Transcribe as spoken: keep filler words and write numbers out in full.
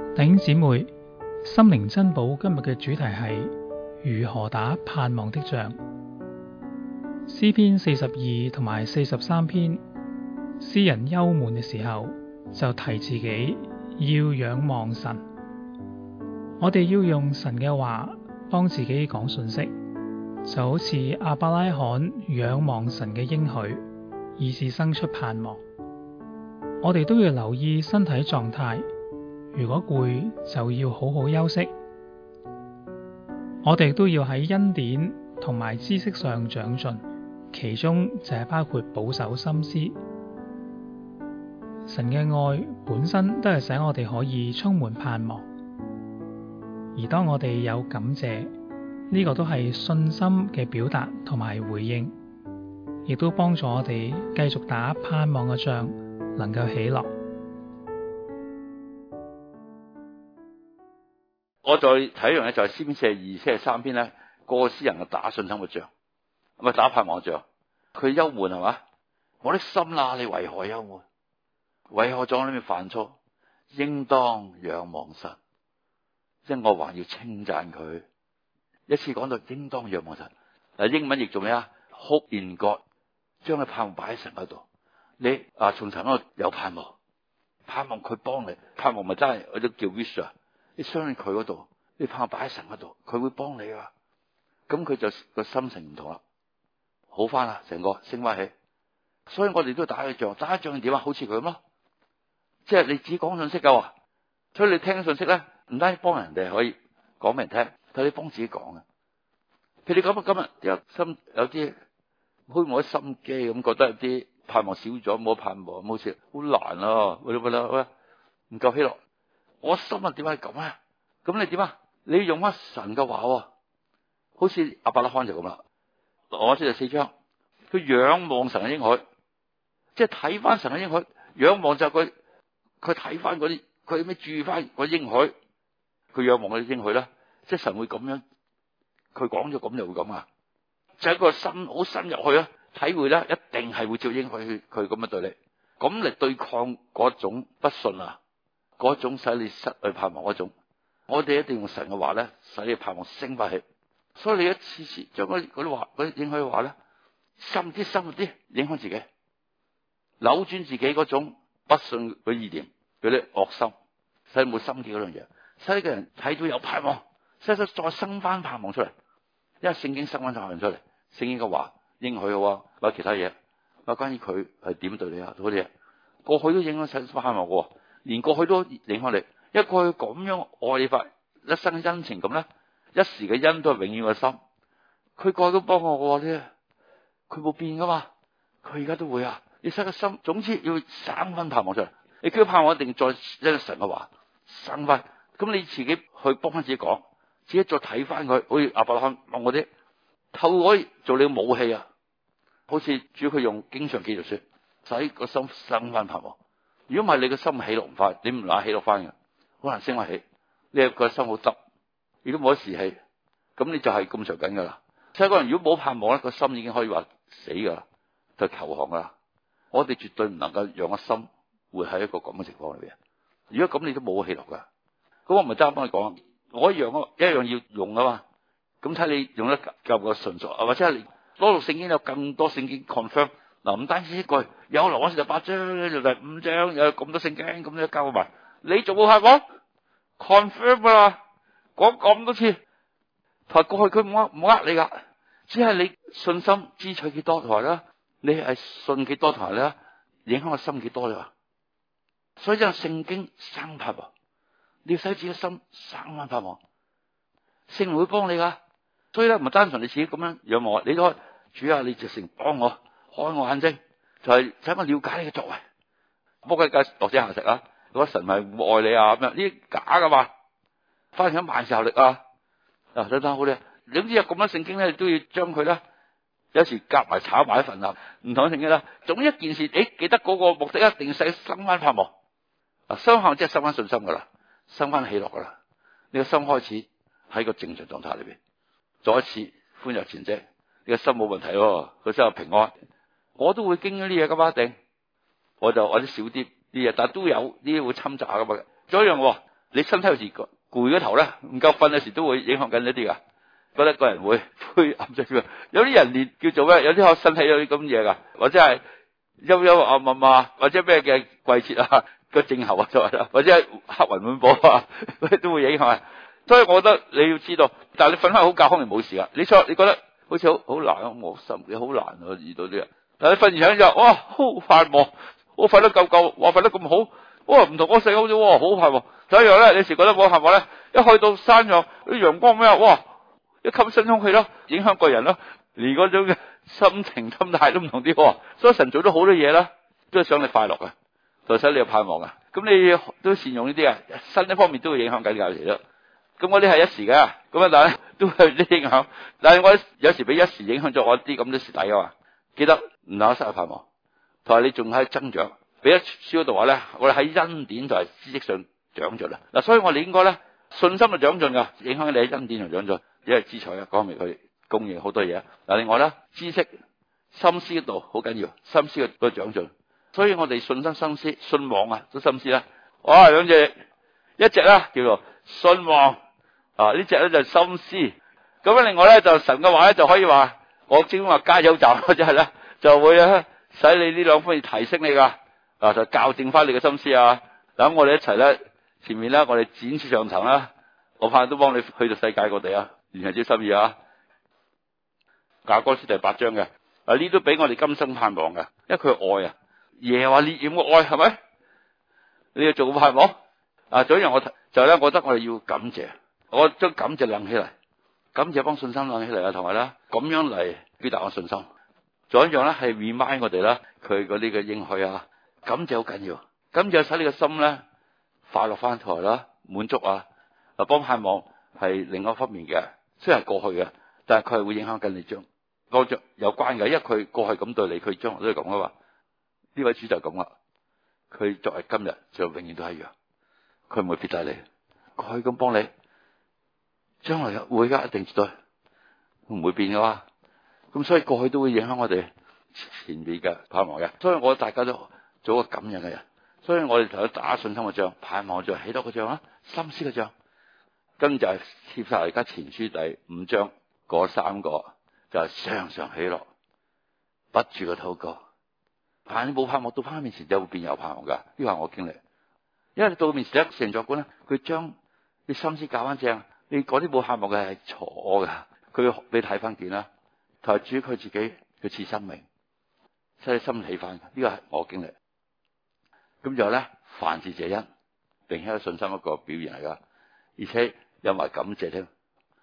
弟兄姊妹，心靈珍寶今日嘅主題係如何打盼望的仗。詩篇四十二同埋四十三篇，詩人憂悶嘅時候就提自己要仰望神。我哋要用神嘅話幫自己講信息，就好似亞伯拉罕仰望神嘅應許，以致生出盼望。我哋都要留意身體狀態，如果攰就要好好休息。我哋都要喺恩典同埋知識上長進，其中就係包括保守心思。神嘅愛本身都係使我哋可以充滿盼望，而當我哋有感謝，呢個都係信心嘅表達同埋回應，亦都幫助我哋繼續打盼望嘅仗，能夠喜樂。 我再睇一樣嘢，就係詩篇四十二、四十三篇咧，個詩人嘅打信心嘅仗，唔係打盼望嘅仗。佢憂悶係嘛？我的心啦，你為何憂悶？為何在我裏面煩躁？應當仰望神，因我還要稱讚佢。一次講到應當仰望神，嗱，英文譯做咩啊？Hope in God，將佢盼望擺喺神嗰度。你啊，從神嗰度有盼望，盼望佢幫你，盼望咪真係嗰啲叫 wish 啊！你相信佢嗰度，你盼望擺喺神嗰度，佢會幫你噶。咁佢就個心情唔同啦，好翻啦，成個升翻起。所以我哋都要打一仗，打一仗點啊？好似佢咁咯，即係你只講信息噶喎，所以你聽信息咧，唔單止幫人哋可以講俾人聽，但你幫自己講啊。譬如你咁今日有心有啲開冇啲心機咁，覺得有啲盼望少咗，冇盼望，好似好難咯，喂喂喂，唔夠喜樂。我心啊，點解咁啊？咁你點啊？你要用翻神嘅話，好似亞伯拉罕就咁啦。我先第四章，佢仰望神嘅應許，即係睇翻神嘅應許。仰望就係佢，佢睇翻嗰啲，佢咩注意翻嗰應許，佢仰望嗰啲應許啦。即係神會咁樣，佢講咗咁就會咁啊！就係、是、個心好深入去啊，體會啦，一定係會照應許佢咁樣對你，咁嚟對抗嗰種不信啊！嗰種使你失去盼望嗰種，我哋一定用神嘅話咧，使你盼望升翻起。所以你一次次將嗰啲話嗰啲影響嘅話咧，深啲深啲影響自己，扭轉自己嗰種不信嘅意念，嗰啲惡心，使冇心機嗰樣嘢，使呢個人睇到有盼望，使佢再生翻盼望出嚟。因為聖經生翻盼望出嚟，聖經嘅話應許嘅話，或者其他嘢，或者關於佢係點對你啊嗰啲嘢，過去都影響使盼望嘅。連過去都影響你，因為過去咁樣愛你法，一生恩情咁咧，一時嘅恩都係永遠嘅心。佢過去都幫我嘅啫，佢冇變噶嘛，佢而家都會啊。你使個心，總之要生翻盼望出嚟。你叫盼望一定再一個神嘅話生翻，咁你自己去幫翻自己講，自己再睇翻佢，好似亞伯拉罕望嗰啲，透過做你嘅武器啊，好似主要佢用經常記住說，使個心生翻盼望。如果唔係，你個心起落唔快，你唔拿起落翻嘅，好難升翻起。你個心好執，如果冇得士氣，咁你就係咁着緊噶啦。所以個人如果冇盼望咧，個心已經可以話死噶啦，就投降噶啦。我哋絕對唔能夠讓個心活喺一個咁嘅情況裏邊。如果咁，你都冇起落噶。咁我唔係單幫你講，我一樣啊，一樣要用啊嘛。咁睇你用得夠唔夠純熟，或者係你攞到聖經有更多聖經 confirm。嗱，唔單止一句，有羅馬書十八章，就第五章，有咁多聖經，咁樣交埋，你仲冇盼望 confirm 啦，講咁多次，同過去佢唔呃唔呃你噶，只係你信心支取幾多台啦，你係信幾多台啦，影響個心幾多咋？所以就聖經生盼望，你要使自己心生翻盼望，聖靈會幫你噶，所以咧唔係單純你自己咁樣仰望，你都可以主啊，你直情幫我。開我眼睛，就係使我了解你嘅作為。魔鬼界落井下石啊！如果神係唔愛你啊咁樣，呢啲假噶嘛？翻緊萬事效力啊！啊，等等好咧。總之有咁多聖經咧，都要將佢咧，有時夾埋炒埋一份啊，唔同嘅聖經啦。總一件事，誒，記得嗰個目的一定使生翻盼望。啊，生盼即係生翻信心噶啦，生翻喜樂噶啦。你個心開始喺個正常狀態裏邊，再一次歡躍前進。你個心冇問題喎，個心有平安。我都會經歷呢嘢噶嘛，一定我就或者少啲啲嘢，但係都有呢啲會侵襲下噶嘛。仲有一樣喎， 你身體有時攰嗰頭咧，唔夠瞓嘅時都會影響緊一啲噶，覺得個人會灰暗咗。有啲人連叫做咩？有啲學身體有啲咁嘢噶，或者係幽幽暗暗啊，或者咩嘅季節啊，個症候啊，或者係黑雲滿布啊，都會影響。所以我覺得你要知道，但係你瞓翻好覺，可能冇事噶。你錯，你覺得好似好好難啊，我心你好難啊，遇到啲人。但係你瞓完醒之後，哇，好快忙，我瞓得夠夠，哇，瞓得咁好，哇，唔同我細好咗，哇，好快忙。第一樣咧，你時覺得冇係咪咧？一去到山上啲陽光咩啊，哇，一吸新空氣咯，影響個人咯，連嗰種嘅心情心態都唔同啲。所以神做咗好多嘢啦，都係想你快樂嘅，就使你有盼望啊。咁你都善用呢啲啊，身體方面都會影響緊有時咯。咁嗰啲係一時嘅，咁啊但係都係啲影響。但係我有時俾一時影響咗我啲咁多蝕底啊嘛。記得唔能夠失去盼望，同埋你仲喺增長。俾一書嗰度話咧，我哋喺恩典就係知識上長進啦。嗱，所以我哋應該咧信心就長進噶，影響你喺恩典上長進，因為資財啊，講明佢供應好多嘢。嗱，另外咧知識心思嗰度好緊要，心思嗰個長進。所以我哋信心、心思、信望啊，都心思啦。哇，兩隻，一隻啦叫做信望啊，呢隻咧就係心思。咁啊，另外咧就神嘅話咧就可以話，我正話加油站或者係咧就會咧使你呢兩方面提升你噶。啊！就校正翻你嘅心思啊！等我哋一齊咧，前面咧我哋展翅上騰啦！我怕都幫你去到世界各地啊！完全之心意啊！雅歌書第八章嘅啊，呢都俾我哋今生盼望嘅，因為佢愛啊，耶和華烈焰嘅愛係咪？你要做個盼望啊！仲有一樣我就咧，我覺得我哋要感謝，我將感謝亮起嚟，感謝幫信心亮起嚟啊！同埋咧咁樣嚟表達我信心。仲有一樣咧係 remind 我哋啦，佢嗰啲嘅應許啊！感謝好緊要，感謝使你個心咧快樂翻台啦，滿足啊！嗱，幫盼望係另外一方面嘅，雖然係過去嘅，但係佢係會影響緊你將過着有關嘅，因為佢過去咁對你，佢將來都係咁啊嘛。呢位主就係咁啦，佢作為今日就永遠都係一樣，佢唔會撇低你，佢咁幫你，將來會噶，一定絕對唔會變噶嘛。咁所以過去都會影響我哋前面嘅盼望嘅，所以我大家都。做個感人嘅人，所以我哋同佢打信心嘅仗，盼望嘅仗，起多個仗啦，心思嘅仗，跟住就係貼晒而家前書第五章嗰三個，就係、是、常常喜樂，不住嘅禱告。但你冇盼望到翻面前就會變有盼望噶，呢個係我經歷。因為你到面前一成作官咧，佢將你心思搞翻正，你嗰啲冇盼望嘅係錯噶，佢會俾你睇翻見啦，同埋主佢自己佢賜生命，使你心起翻。呢個係我經歷。咁就咧，凡事謝恩，並且有信心一個表現嚟噶，而且有埋感謝添。